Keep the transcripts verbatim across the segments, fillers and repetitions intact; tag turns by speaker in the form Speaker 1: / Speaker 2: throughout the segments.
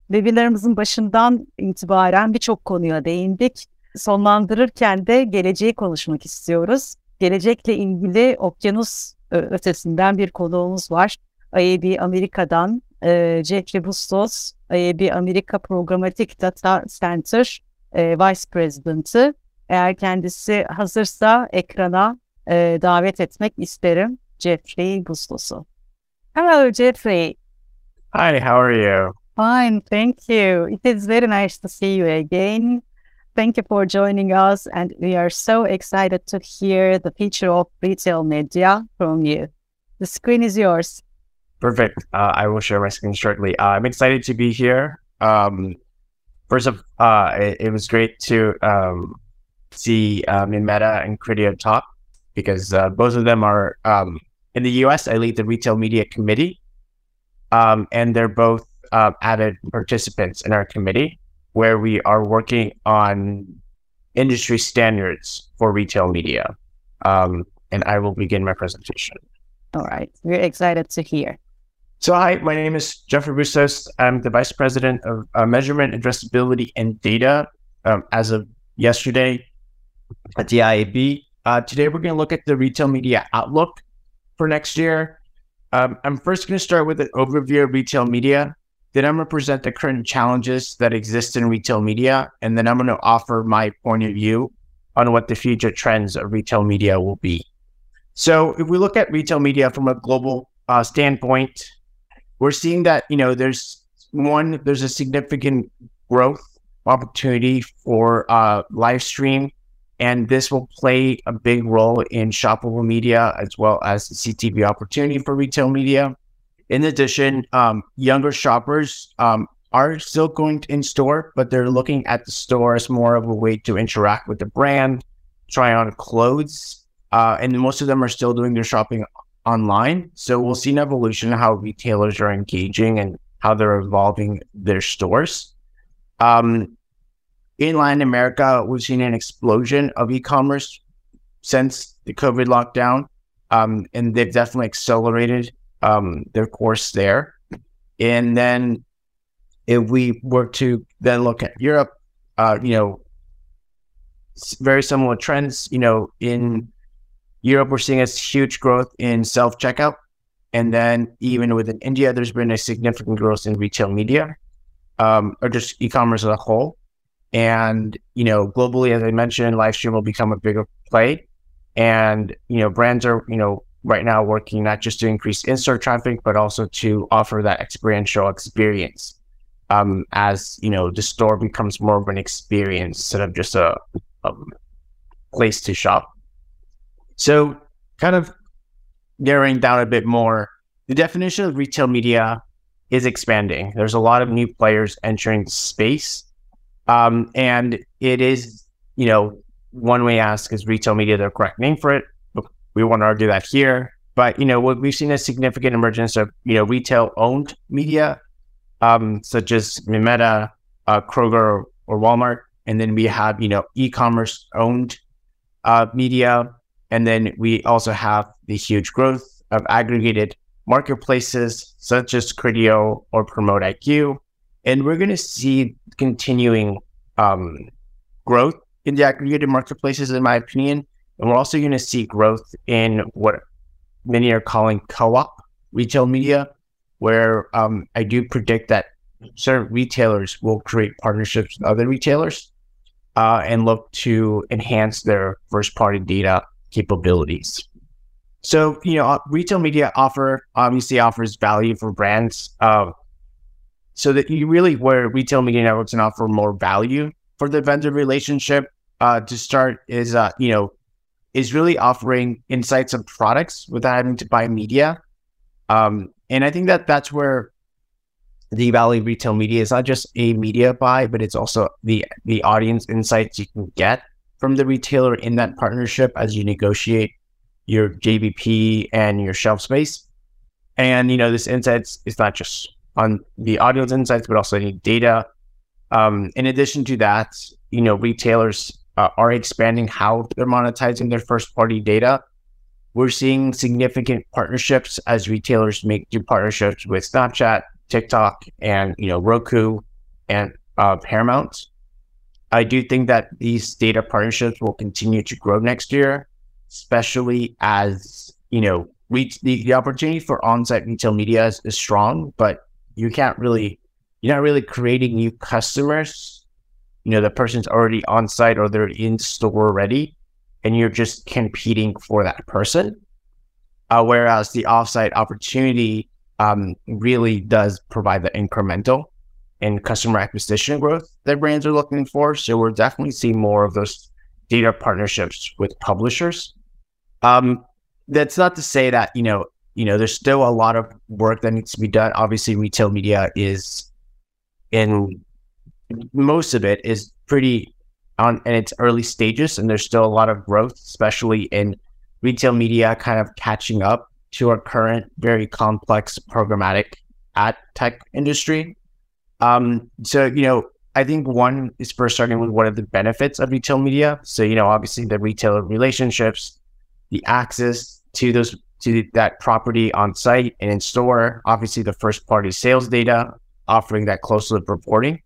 Speaker 1: Webinarımızın başından itibaren birçok konuya değindik. Sonlandırırken de geleceği konuşmak istiyoruz. Gelecekle ilgili okyanus ö- ötesinden bir konuğumuz var. I A B Amerika'dan e, Jeffrey Bustos, I A B Amerika Programmatic Data Center e, Vice President'ı. Eğer kendisi hazırsa ekrana e, davet etmek isterim Jeffrey Bustos'u. Hello, Jeffrey.
Speaker 2: Hi, how are you?
Speaker 1: Fine, thank you. It is very nice to see you again. Thank you for joining us, and we are so excited to hear the future of retail media from you. The screen is yours.
Speaker 2: Perfect. Uh, I will share my screen shortly. Uh, I'm excited to be here. Um, first of, uh, it, it was great to um, see um, Meta and Criteo talk because uh, both of them are um, in the U S. I lead the Retail Media Committee, um, and they're both uh, avid participants in our committee, where we are working on industry standards for retail media. Um, and I will begin my presentation.
Speaker 1: All right, we're excited to hear.
Speaker 2: So hi, my name is Jeffrey Bustos. I'm the Vice President of uh, Measurement, Addressability, and Data um, as of yesterday at the I A B. Uh, today we're going to look at the retail media outlook for next year. Um, I'm first going to start with an overview of retail media. Then I'm going to present the current challenges that exist in retail media. And then I'm going to offer my point of view on what the future trends of retail media will be. So if we look at retail media from a global uh, standpoint, we're seeing that, you know, there's one, there's a significant growth opportunity for uh, live stream, and this will play a big role in shoppable media as well as the C T V opportunity for retail media. In addition, um, younger shoppers um, are still going in store, but they're looking at the store as more of a way to interact with the brand, try on clothes, uh, and most of them are still doing their shopping online. So we'll see an evolution in how retailers are engaging and how they're evolving their stores. Um, in Latin America, we've seen an explosion of e-commerce since the COVID lockdown, um, and they've definitely accelerated um, their course there. And then if we were to then look at Europe, uh, you know, very similar trends, you know, in Europe, we're seeing a huge growth in self-checkout. And then even within India, there's been a significant growth in retail media, um, or just e-commerce as a whole. And, you know, globally, as I mentioned, live stream will become a bigger play. And, you know, brands are, you know, right now working not just to increase in-store traffic, but also to offer that experiential experience um, as, you know, the store becomes more of an experience instead of just a, a place to shop. So kind of narrowing down a bit more, the definition of retail media is expanding. There's a lot of new players entering the space. Um, and it is, you know, one way to ask, is retail media the correct name for it? We won't argue that here. But, you know, we've seen a significant emergence of, you know, retail-owned media, um, such as Meta, uh, Kroger, or Walmart. And then we have, you know, e-commerce-owned uh, media. And then we also have the huge growth of aggregated marketplaces such as Criteo or Promote I Q. And we're going to see continuing um, growth in the aggregated marketplaces, in my opinion. And we're also going to see growth in what many are calling co-op retail media, where um, I do predict that certain retailers will create partnerships with other retailers uh, and look to enhance their first-party data capabilities. So, you know, retail media offer obviously offers value for brands. Uh, so that you really, where retail media networks can offer more value for the vendor relationship uh, to start is, uh, you know, is really offering insights of products without having to buy media. Um, and I think that that's where the value of retail media is not just a media buy, but it's also the the audience insights you can get from the retailer in that partnership as you negotiate your J B P and your shelf space. And, you know, this insights is not just on the audience insights, but also any data. Um, in addition to that, you know, retailers uh, are expanding how they're monetizing their first party data. We're seeing significant partnerships as retailers make new partnerships with Snapchat, TikTok, and, you know, Roku and uh, Paramount. I do think that these data partnerships will continue to grow next year, especially as, you know, we, the, the opportunity for on-site retail media is, is strong, but you can't really, you're not really creating new customers. You know, the person's already on site or they're in store already, and you're just competing for that person. Uh, whereas the offsite opportunity um, really does provide the incremental and customer acquisition growth that brands are looking for. So we're definitely seeing more of those data partnerships with publishers. Um, that's not to say that, you know, you know, there's still a lot of work that needs to be done. Obviously, retail media is in most of it is pretty on in its early stages, and there's still a lot of growth, especially in retail media kind of catching up to our current very complex programmatic ad tech industry. Um, so, you know, I think one is first starting with what are the benefits of retail media. So, you know, obviously the retailer relationships, the access to those to that property on site and in store, obviously the first party sales data, offering that closed loop reporting,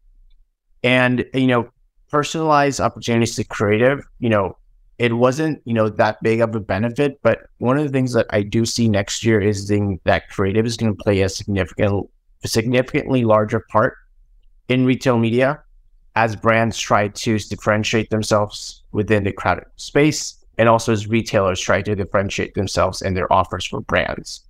Speaker 2: and, you know, personalized opportunities to creative. You know, it wasn't, you know, that big of a benefit, but one of the things that I do see next year is the, that creative is going to play a significant, a significantly larger part in retail media as brands try to differentiate themselves within the crowded space, and also as retailers try to differentiate themselves and their offers for brands.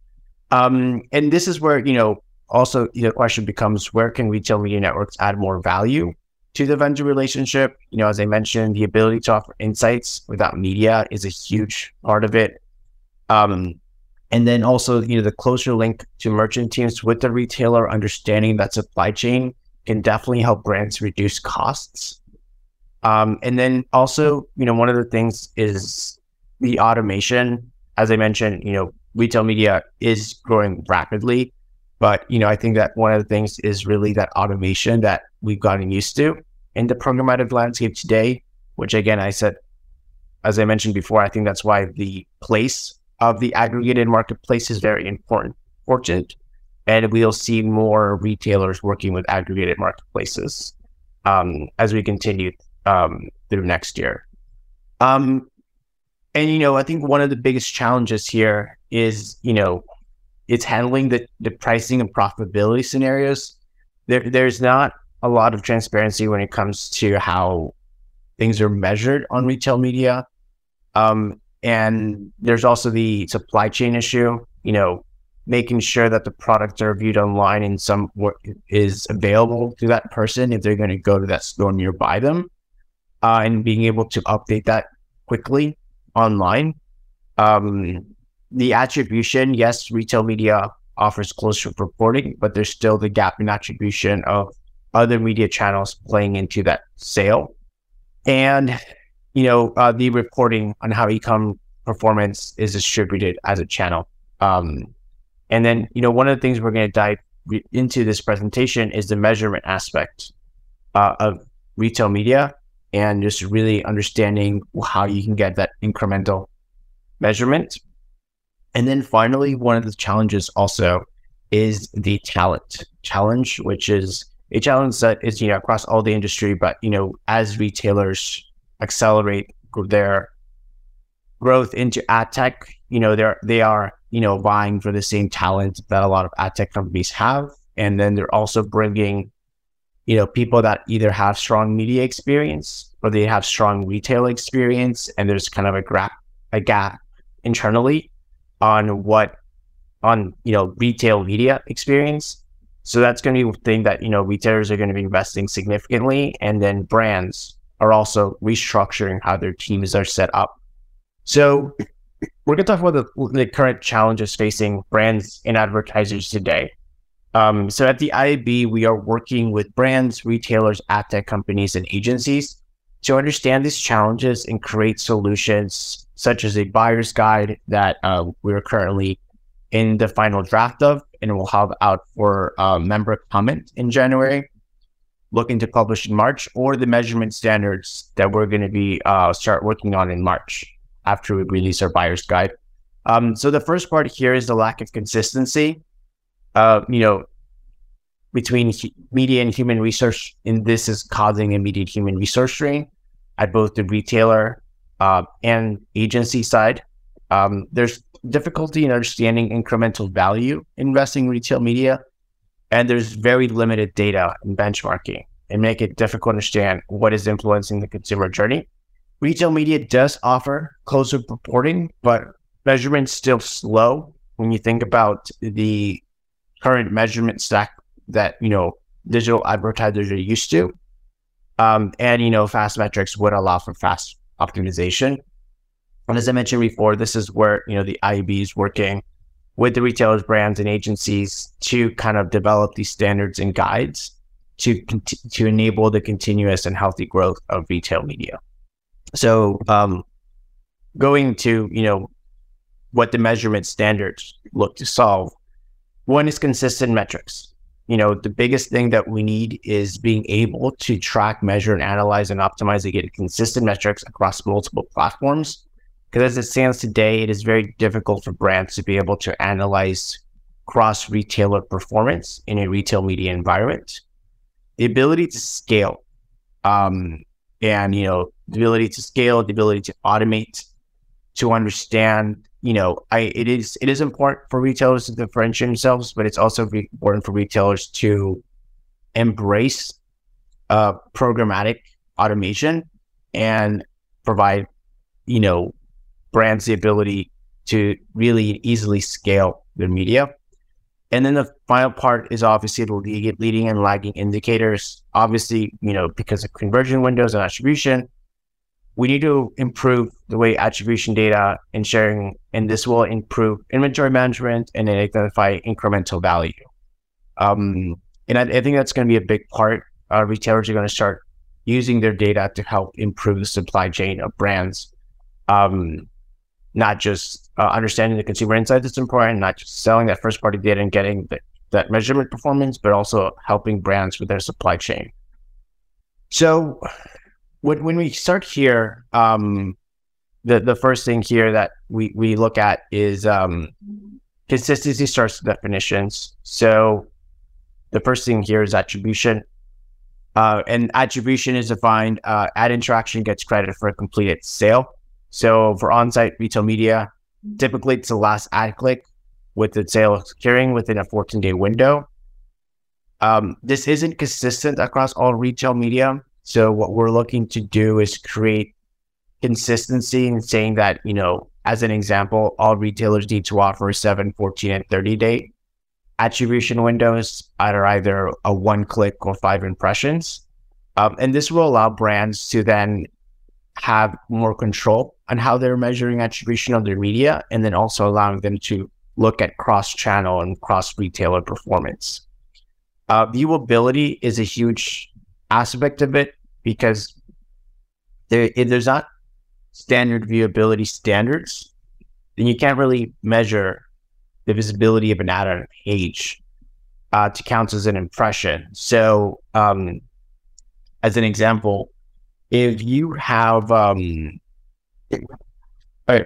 Speaker 2: Um, and this is where, you know, also the question becomes, where can retail media networks add more value to the vendor relationship? You know, as I mentioned, the ability to offer insights without media is a huge part of it. Um, and then also, you know, the closer link to merchant teams with the retailer, understanding that supply chain can definitely help brands reduce costs. Um, and then also, you know, one of the things is the automation. As I mentioned, you know, retail media is growing rapidly, but, you know, I think that one of the things is really that automation that we've gotten used to in the programmatic landscape today, which again, I said, as I mentioned before, I think that's why the place of the aggregated marketplace is very important, important. And we'll see more retailers working with aggregated marketplaces um, as we continue um, through next year. Um, and, you know, I think one of the biggest challenges here is, you know, it's handling the, the pricing and profitability scenarios. There, there's not a lot of transparency when it comes to how things are measured on retail media. Um, and there's also the supply chain issue, you know, making sure that the products are viewed online and some what is available to that person if they're going to go to that store nearby them, uh, and being able to update that quickly online. Um, the attribution, yes, retail media offers closer reporting, but there's still the gap in attribution of other media channels playing into that sale. And, you know, uh, the reporting on how e-com performance is distributed as a channel. Um, and then, you know, one of the things we're going to dive re- into this presentation is the measurement aspect uh, of retail media, and just really understanding how you can get that incremental measurement. And then finally, one of the challenges also is the talent challenge, which is a challenge that is, you know, across all the industry, but, you know, as retailers accelerate their growth into ad tech, you know, they're, they are, you know, vying for the same talent that a lot of ad tech companies have. And then they're also bringing, you know, people that either have strong media experience or they have strong retail experience. And there's kind of a gap, a gap internally on what, on, you know, retail media experience. So that's going to be a thing that, you know, retailers are going to be investing significantly. And then brands are also restructuring how their teams are set up. So we're going to talk about the, the current challenges facing brands and advertisers today. Um, so at the I A B, we are working with brands, retailers, ad tech companies, and agencies to understand these challenges and create solutions such as a buyer's guide that uh, we're currently in the final draft of, and we'll have out for uh, member comment in January, looking to publish in March, or the measurement standards that we're going to be uh, start working on in March after we release our buyer's guide. Um, so the first part here is the lack of consistency. Uh, you know, between hu- media and human research, and this is causing immediate human resource strain at both the retailer uh, and agency side. Um, there's difficulty in understanding incremental value investing in retail media, and there's very limited data and benchmarking, and make it difficult to understand what is influencing the consumer journey. Retail media does offer closer reporting, but measurement's still slow when you think about the current measurement stack that, you know, digital advertisers are used to. Um, and, you know, fast metrics would allow for fast optimization. And as I mentioned before, this is where, you know, the I A B is working with the retailers, brands, and agencies to kind of develop these standards and guides to to enable the continuous and healthy growth of retail media. So um, going to, you know, what the measurement standards look to solve, one is consistent metrics. You know, the biggest thing that we need is being able to track, measure, and analyze and optimize to get consistent metrics across multiple platforms. Because as it stands today, it is very difficult for brands to be able to analyze cross-retailer performance in a retail media environment. The ability to scale, um, and, you know, the ability to scale, the ability to automate, to understand, you know, I it is it is important for retailers to differentiate themselves, but it's also re- important for retailers to embrace uh, programmatic automation and provide, you know, brands the ability to really easily scale their media. And then the final part is obviously the lead, leading and lagging indicators. Obviously, you know, because of conversion windows and attribution, we need to improve the way attribution data and sharing, and this will improve inventory management and identify incremental value. Um, and I, I think that's going to be a big part. Uh, retailers are going to start using their data to help improve the supply chain of brands. Um, not just uh, understanding the consumer insights that's important, not just selling that first party data and getting the, that measurement performance, but also helping brands with their supply chain. So when, when we start here, um, the, the first thing here that we, we look at is um, consistency starts with definitions. So the first thing here is attribution. Uh, and attribution is defined, uh, ad interaction gets credit for a completed sale. So for on-site retail media, typically it's the last ad click with the sale occurring within a fourteen-day window. Um, this isn't consistent across all retail media. So what we're looking to do is create consistency in saying that, you know, as an example, all retailers need to offer seven, fourteen, and thirty-day attribution windows at either a one-click or five impressions. Um, and this will allow brands to then have more control on how they're measuring attribution of their media, and then also allowing them to look at cross-channel and cross-retailer performance. Uh, viewability is a huge aspect of it because there, if there's not standard viewability standards, then you can't really measure the visibility of an ad on a page uh, to count as an impression. So um, as an example, if you have, um, right,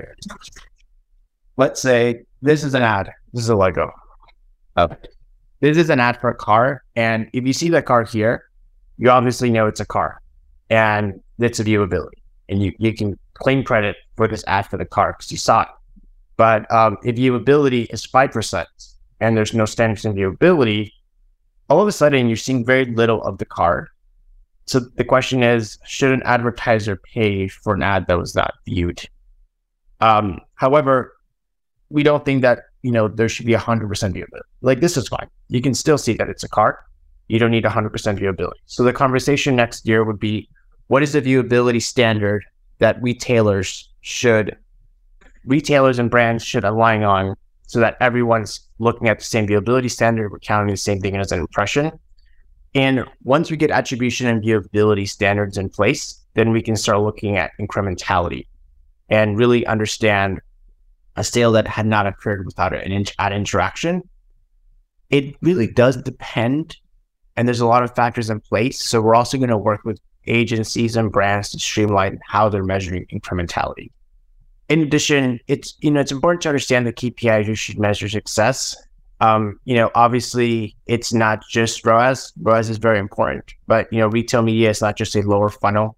Speaker 2: let's say this is an ad, this is a Lego. Oh. This is an ad for a car. And if you see that car here, you obviously know it's a car and it's a viewability. And you, you can claim credit for this ad for the car because you saw it. But um, if viewability is five percent and there's no standards in viewability, all of a sudden you're seeing very little of the car. So the question is, should an advertiser pay for an ad that was not viewed? Um, however, we don't think that, you know, there should be one hundred percent viewability. Like, this is fine. You can still see that it's a car. You don't need one hundred percent viewability. So the conversation next year would be, what is the viewability standard that retailers should, retailers and brands should align on so that everyone's looking at the same viewability standard, we're counting the same thing as an impression. And once we get attribution and viewability standards in place, then we can start looking at incrementality and really understand a sale that had not occurred without an ad interaction. It really does depend, and there's a lot of factors in place. So we're also going to work with agencies and brands to streamline how they're measuring incrementality. In addition, it's, you know, it's important to understand the K P Is you should measure success. Um, you know, obviously it's not just R O A S. R O A S is very important, but you know, retail media is not just a lower funnel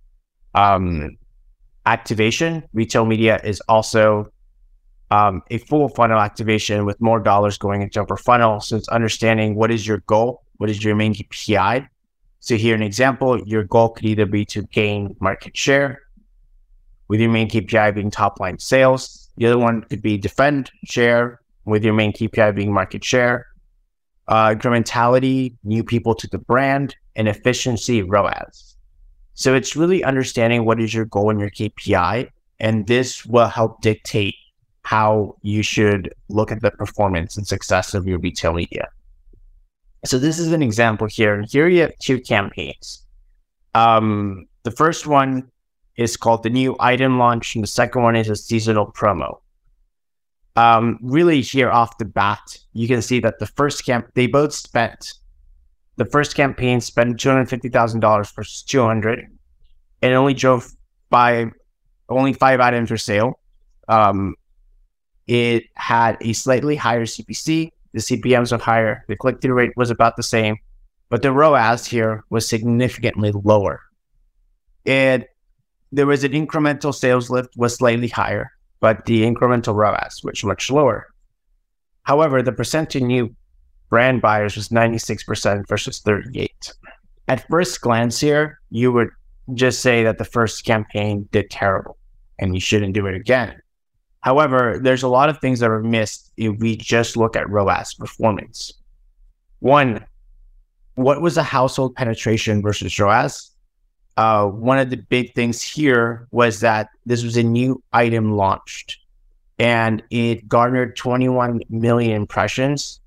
Speaker 2: um, activation. Retail media is also um, a full funnel activation with more dollars going into upper funnel. So it's understanding what is your goal, what is your main K P I. So here an example, your goal could either be to gain market share, with your main K P I being top line sales. The other one could be defend share, with your main K P I being market share, uh, incrementality, new people to the brand, and efficiency, R O A S. So it's really understanding what is your goal and your K P I, and this will help dictate how you should look at the performance and success of your retail media. So this is an example here. Here you have two campaigns. Um, the first one is called the new item launch, and the second one is a seasonal promo. Um, really here off the bat, you can see that the first camp, they both spent, the first campaign spent two hundred fifty thousand dollars versus two hundred, and only drove five, only five items for sale. Um, it had a slightly higher C P C, the C P Ms were higher, the click-through rate was about the same, but the R O A S here was significantly lower. And there was an incremental sales lift was slightly higher, but the incremental R O A S was much lower. However, the percent to new brand buyers was ninety-six percent versus thirty-eight. At first glance here, you would just say that the first campaign did terrible and you shouldn't do it again. However, there's a lot of things that are missed if we just look at R O A S performance. One, what was the household penetration versus R O A S? Uh, one of the big things here was that this was a new item launched and it garnered twenty-one million impressions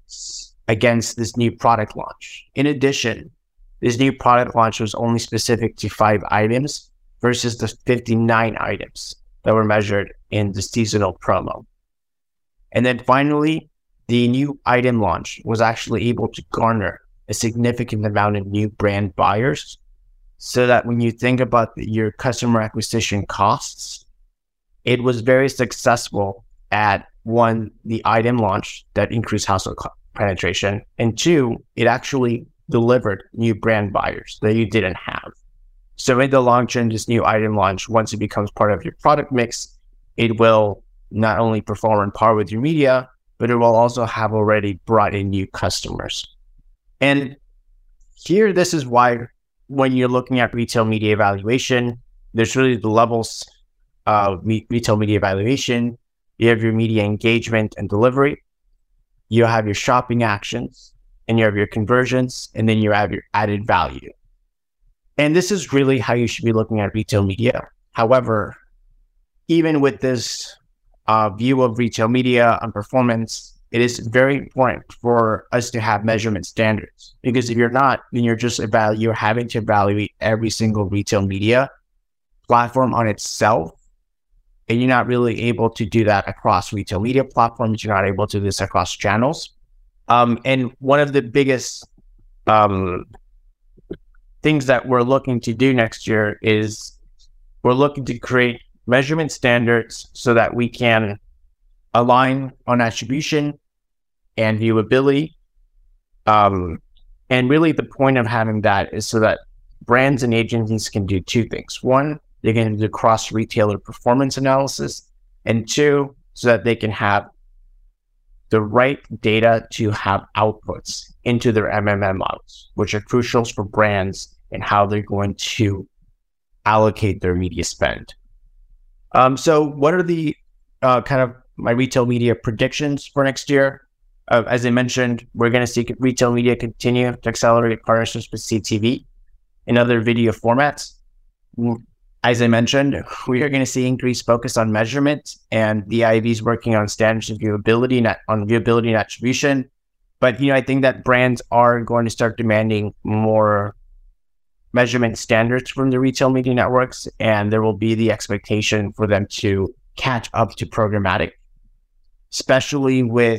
Speaker 2: against this new product launch. In addition, this new product launch was only specific to five items versus the fifty-nine items that were measured in the seasonal promo. And then finally, the new item launch was actually able to garner a significant amount of new brand buyers, so that when you think about the, your customer acquisition costs, it was very successful at one, the item launch that increased household penetration, and two, it actually delivered new brand buyers that you didn't have. So in the long term, this new item launch, once it becomes part of your product mix, it will not only perform on par with your media, but it will also have already brought in new customers. And here, this is why when you're looking at retail media evaluation, there's really the levels of me- retail media evaluation. You have your media engagement and delivery. You have your shopping actions, and you have your conversions, and then you have your added value. And this is really how you should be looking at retail media. However, even with this uh, view of retail media and performance, it is very important for us to have measurement standards. Because if you're not, then you're just evalu- you're having to evaluate every single retail media platform on itself. And you're not really able to do that across retail media platforms. You're not able to do this across channels. Um, and one of the biggest um, things that we're looking to do next year is we're looking to create measurement standards so that we can align on attribution and viewability. Um, and really the point of having that is so that brands and agencies can do two things. One, they can do cross-retailer performance analysis. And two, so that they can have the right data to have outputs into their M M M models, which are crucial for brands and how they're going to allocate their media spend. Um, so what are the uh, kind of my retail media predictions for next year? Uh, as I mentioned, we're going to see retail media continue to accelerate partnerships with C T V and other video formats. As I mentioned, we are going to see increased focus on measurement, and the I A B is working on standards of viewability and on viewability and attribution. But you know, I think that brands are going to start demanding more measurement standards from the retail media networks, and there will be the expectation for them to catch up to programmatic, especially with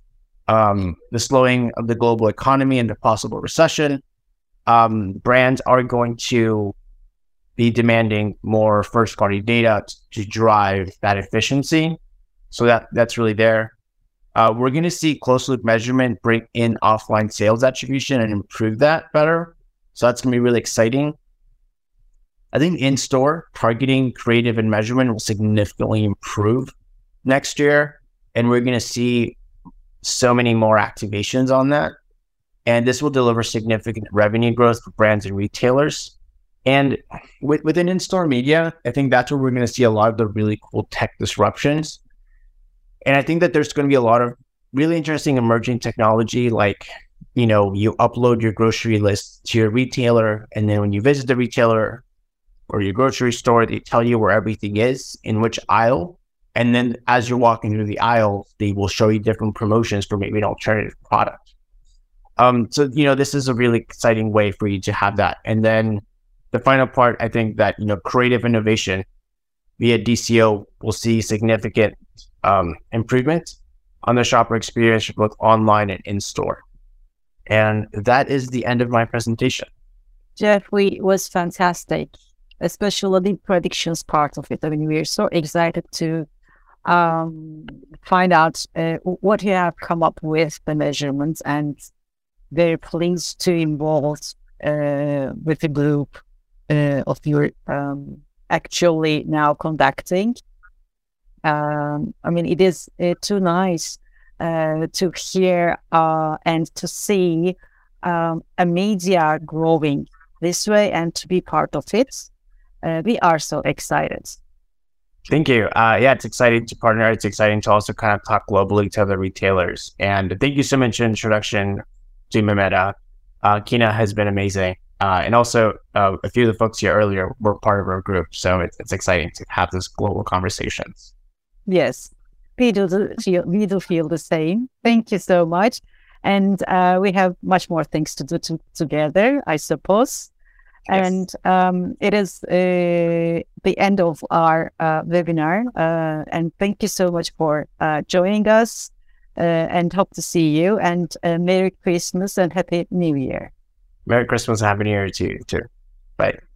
Speaker 2: um, the slowing of the global economy and the possible recession. Um, brands are going to be demanding more first-party data to drive that efficiency. So that that's really there. Uh, we're going to see closed loop measurement bring in offline sales attribution and improve that better. So that's going to be really exciting. I think in-store targeting, creative, and measurement will significantly improve next year. And we're going to see so many more activations on that. And this will deliver significant revenue growth for brands and retailers. And with, within in-store media, I think that's where we're going to see a lot of the really cool tech disruptions. And I think that there's going to be a lot of really interesting emerging technology, like, you know, you upload your grocery list to your retailer, and then when you visit the retailer or your grocery store, they tell you where everything is, in which aisle. And then as you're walking through the aisle, they will show you different promotions for maybe an alternative product. Um, so, you know, this is a really exciting way for you to have that. And then the final part, I think that, you know, creative innovation via D C O will see significant um, improvement on the shopper experience, both online and in-store. And that is the end of my presentation.
Speaker 1: Jeffrey, it was fantastic, especially the predictions part of it. I mean, we're so excited to um, find out uh, what you have come up with, the measurements, and very pleased to involve uh, with the group uh, of your um, actually now conducting. Um, I mean, it is uh, too nice uh, to hear uh, and to see um, a media growing this way and to be part of it. Uh, we are so excited.
Speaker 2: Thank you. Uh, yeah, it's exciting to partner. It's exciting to also kind of talk globally to other retailers. And thank you so much for the introduction to Mehmet. Uh, Kina has been amazing. Uh, and also, uh, a few of the folks here earlier were part of our group. So it's, it's exciting to have these global conversations.
Speaker 1: Yes, we do, feel, we do feel the same. Thank you so much. And uh, we have much more things to do to, together, I suppose. Yes. And um, it is uh, the end of our uh, webinar. Uh, and thank you so much for uh, joining us uh, and hope to see you. And uh, Merry Christmas and Happy New Year.
Speaker 2: Merry Christmas and Happy New Year to you too. Bye.